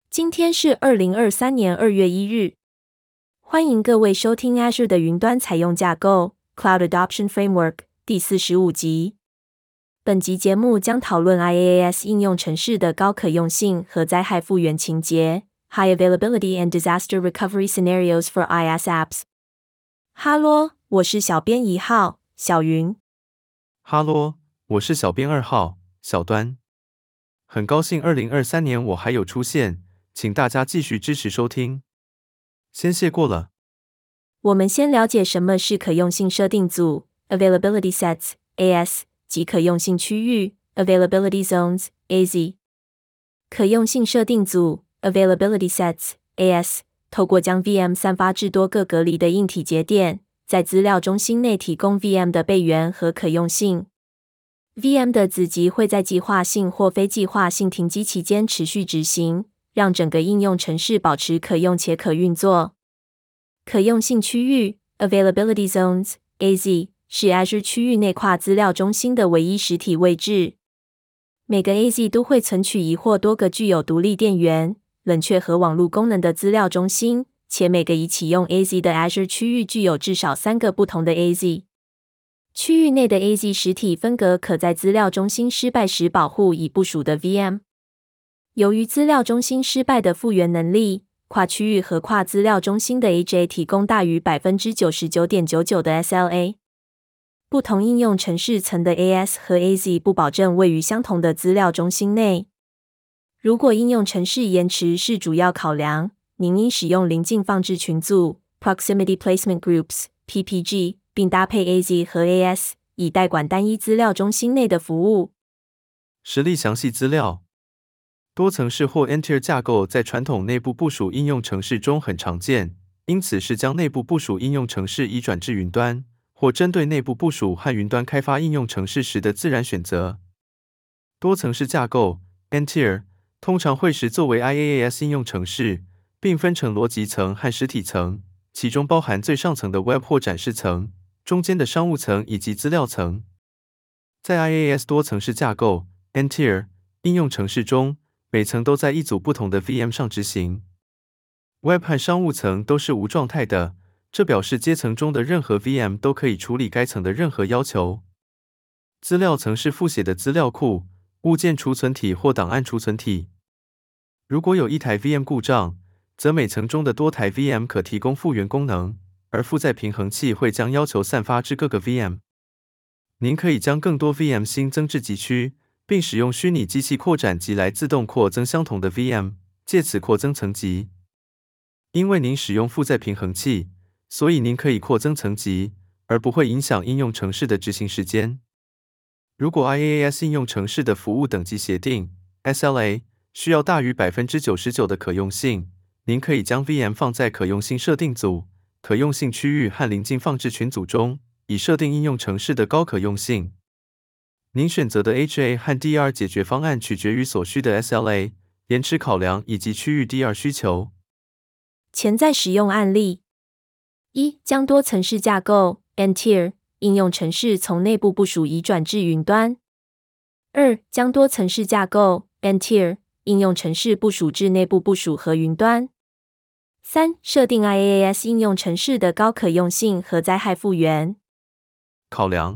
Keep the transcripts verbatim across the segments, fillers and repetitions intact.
今天是二零二三年二月一日，歡迎各位收聽 Azure 的雲端採用架構 Cloud Adoption Framework 第四十五集。本集節目將討論 I A S 應用程式的高可用性和災害復原情節 High Availability and Disaster Recovery Scenarios for I A S Apps。哈嘍，我是小編一號小雲。 哈嘍，我是小編二號小端。很高興二零二三年我還有出現，請大家繼續支持收聽，先謝過了。 我們先了解什麼是可用性設定組 Availability Sets A S 及可用性區域 Availability Zones A Z。可用性設定組 Availability Sets A S 透過將 V M 散發至多個隔離的硬體節點，在資料中心內提供 V M 的備援和可用性。V M 的子集會在計劃性或非計劃性停機期間持續執行，讓整個應用程式保持可用且可運作。可用性區域 Availability Zones A Z 是 Azure 區域內跨資料中心的唯一實體位置。每個 A Z 都會存取一或多個具有獨立電源、冷卻和網絡功能的資料中心，且每個已啟用 A Z 的 Azure 區域具有至少三個不同的 A Z。區域內的 A Z 實體分隔可在資料中心失敗時保護已部署的 V M。由於資料中心失敗的復原能力，跨區域和跨資料中心的 H A 提供大於 百分之九十九點九九 的 S L A。不同應用程式層的 A S 和 A Z 不保證位於相同的資料中心內。如果應用程式延遲是主要考量，您應使用鄰近放置群組 Proximity Placement Groups P P G， 並搭配 A Z 和 A S， 以代管單一資料中心內的服務。 實例詳細資料。多層式或 N-tier 架構在傳統內部部署應用程式中很常見，因此是將內部部署應用程式移轉至雲端，或針對內部部署和雲端開發應用程式時的自然選擇。多層式架構 N-tier 通常會時作為 I A S 應用程式，並分成邏輯層和實體層，其中包含最上層的 Web 或展示層、中間的商務層以及資料層。在 I A S 多層式架構 N-tier 應用程式中，每層都在一組不同的 V M 上執行。Web 和商務層都是無狀態的，這表示階層中的任何 V M 都可以處理該層的任何要求。資料層是複寫的資料庫、物件儲存體或檔案儲存體。如果有一台 V M 故障，則每層中的多台 V M 可提供復原功能，而負載平衡器會將要求散發至各個 V M。您可以將更多 V M 新增至極區，並使用虛擬機器擴展集來自動擴增相同的 V M， 借此擴增層級。因為您使用負載平衡器，所以您可以擴增層級，而不會影響應用程式的執行時間。如果 I A S 應用程式的服務等級協定 S L A 需要大於 百分之九十九 的可用性，您可以將 V M 放在可用性設定組、可用性區域和鄰近放置群組中，以設定應用程式的高可用性。您選擇的 H A 和 D R 解決方案取決於所需的 S L A、延遲考量以及區域 D R 需求。 潛在使用案例：一、將多層式架構 N-tier 應用程式從內部部署移轉至雲端；二、將多層式架構 N-tier 應用程式部署至內部部署和雲端；三、設定 I A S 應用程式的高可用性和災害復原。 考量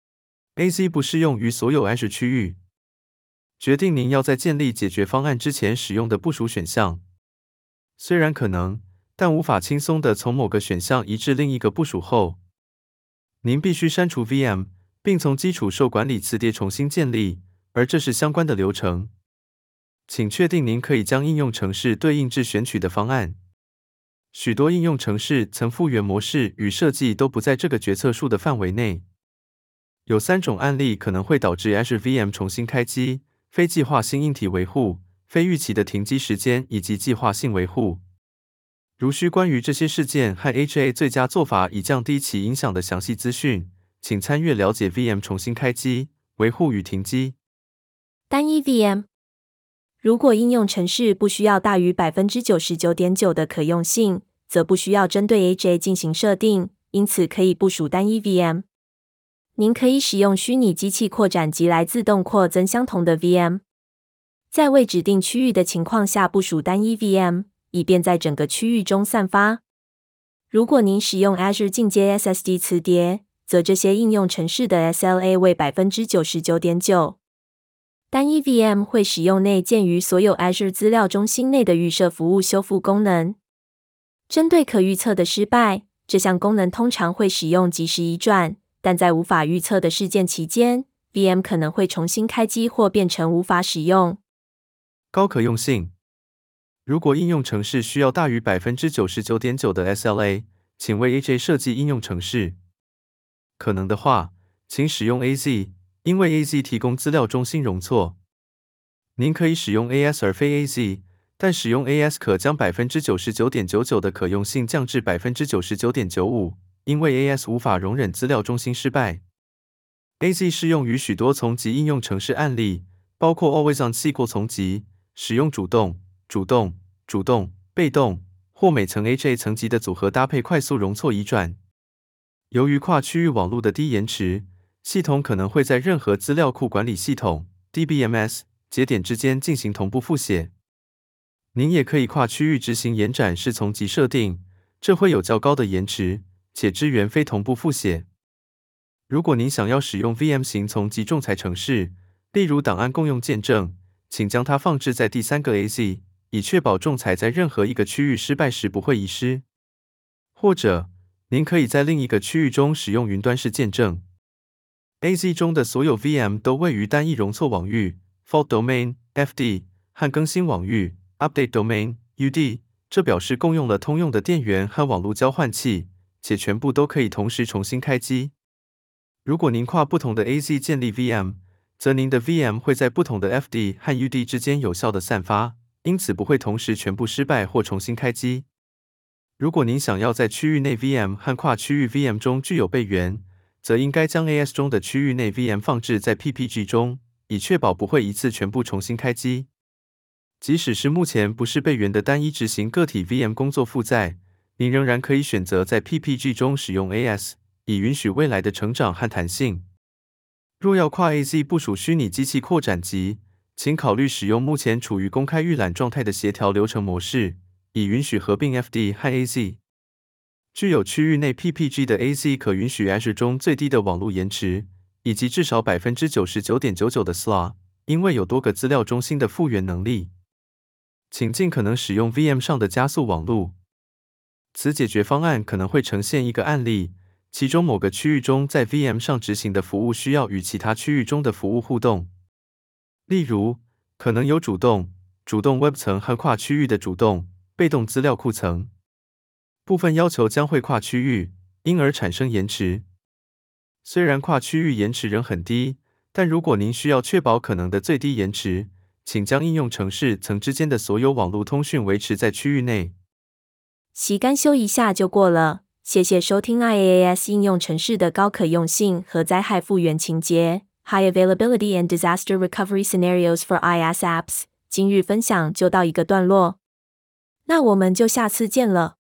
A Z 不適用於所有 Azure 區域。決定您要在建立解決方案之前使用的部署選項。雖然可能，但無法輕鬆地從某個選項移至另一個部署後，您必須刪除 V M， 並從基礎受管理磁碟重新建立，而這是相關的流程。請確定您可以將應用程式對應至選取的方案。許多應用程式層復原模式與設計都不在這個決策樹的範圍內。有三種案例可能會導致 Azure V M 重新開機：非計劃性硬體維護、非預期的停機時間以及計劃性維護。如需關於這些事件和 H A 最佳做法以降低其影響的詳細資訊，請參閱了解 V M 重新開機、維護與停機。 單一 V M。如果應用程式不需要大於 百分之九十九點九 的可用性，則不需要針對 H A 進行設定，因此可以部署單一 V M。您可以使用虛擬機器擴展集來自動擴增相同的 V M。 在未指定區域的情況下部署單一 V M， 以便在整個區域中散發。如果您使用 Azure 進階 S S D 磁碟，則這些應用程式的 S L A 為 百分之九十九點九。單一 V M 會使用內建於所有 Azure 資料中心內的預設服務修復功能。針對可預測的失敗，這項功能通常會使用即時移轉，但在無法預測的事件期間， V M 可能會重新開機或變成無法使用。 高可用性。如果應用程式需要大於 百分之九十九點九 的 S L A， 請為 H A 設計應用程式。可能的話，請使用 A Z， 因為 A Z 提供資料中心容錯。您可以使用 A S 而非 A Z， 但使用 A S 可將 百分之九十九點九九 的可用性降至 百分之九十九點九五， 因為 A S 無法容忍資料中心失敗。A Z 適用於許多叢集應用程式案例，包括 Always on S Q L 叢集，使用主動、主動、主動、被動或每層 H A 層級的組合搭配快速容錯移轉。由於跨區域網絡的低延遲，系統可能會在任何資料庫管理系統 D B M S 節點之間進行同步複寫。您也可以跨區域執行延展式叢集設定，這會有較高的延遲，且支援非同步複寫。如果您想要使用 V M 型叢集仲裁程式，例如檔案共用見證，請將它放置在第三個 A Z， 以確保仲裁在任何一個區域失敗時不會遺失。或者，您可以在另一個區域中使用雲端式見證。A Z 中的所有 V M 都位於單一容錯網域 （Fault Domain, F D） 和更新網域 （Update Domain, U D）， 這表示共用了通用的電源和網絡交換器，且全部都可以同時重新開機。如果您跨不同的 A Z 建立 V M， 則您的 V M 會在不同的 F D 和 U D 之間有效地散發，因此不會同時全部失敗或重新開機。如果您想要在區域內 V M 和跨區域 V M 中具有備援，則應該將 A S 中的區域內 V M 放置在 P P G 中，以確保不會一次全部重新開機。即使是目前不是備援的單一執行個體 V M 工作負載，您仍然可以選擇在 P P G 中使用 A S， 以允許未來的成長和彈性。若要跨 A Z 部署虛擬機器擴展集，請考慮使用目前處於公開預覽狀態的協調流程模式，以允許合併 F D 和 A Z。具有區域內 P P G 的 A Z 可允許 Azure 中最低的網絡延遲，以及至少 百分之九十九點九九 的 S L A， 因為有多個資料中心的復原能力。請盡可能使用 V M 上的加速網絡。此解決方案可能會呈現一個案例，其中某個區域中在 V M 上執行的服務需要與其他區域中的服務互動。例如，可能有主動、主動 Web 層和跨區域的主動、被動資料庫層。部分要求將會跨區域，因而產生延遲。雖然跨區域延遲仍很低，但如果您需要確保可能的最低延遲，請將應用程式層之間的所有網絡通訊維持在區域內。 習幹修一下就過了。謝謝收聽 I A S 應用程式的高可用性和災害復原情節 （High Availability and Disaster Recovery Scenarios for I A S Apps）。今日分享就到一個段落，那我們就下次見了。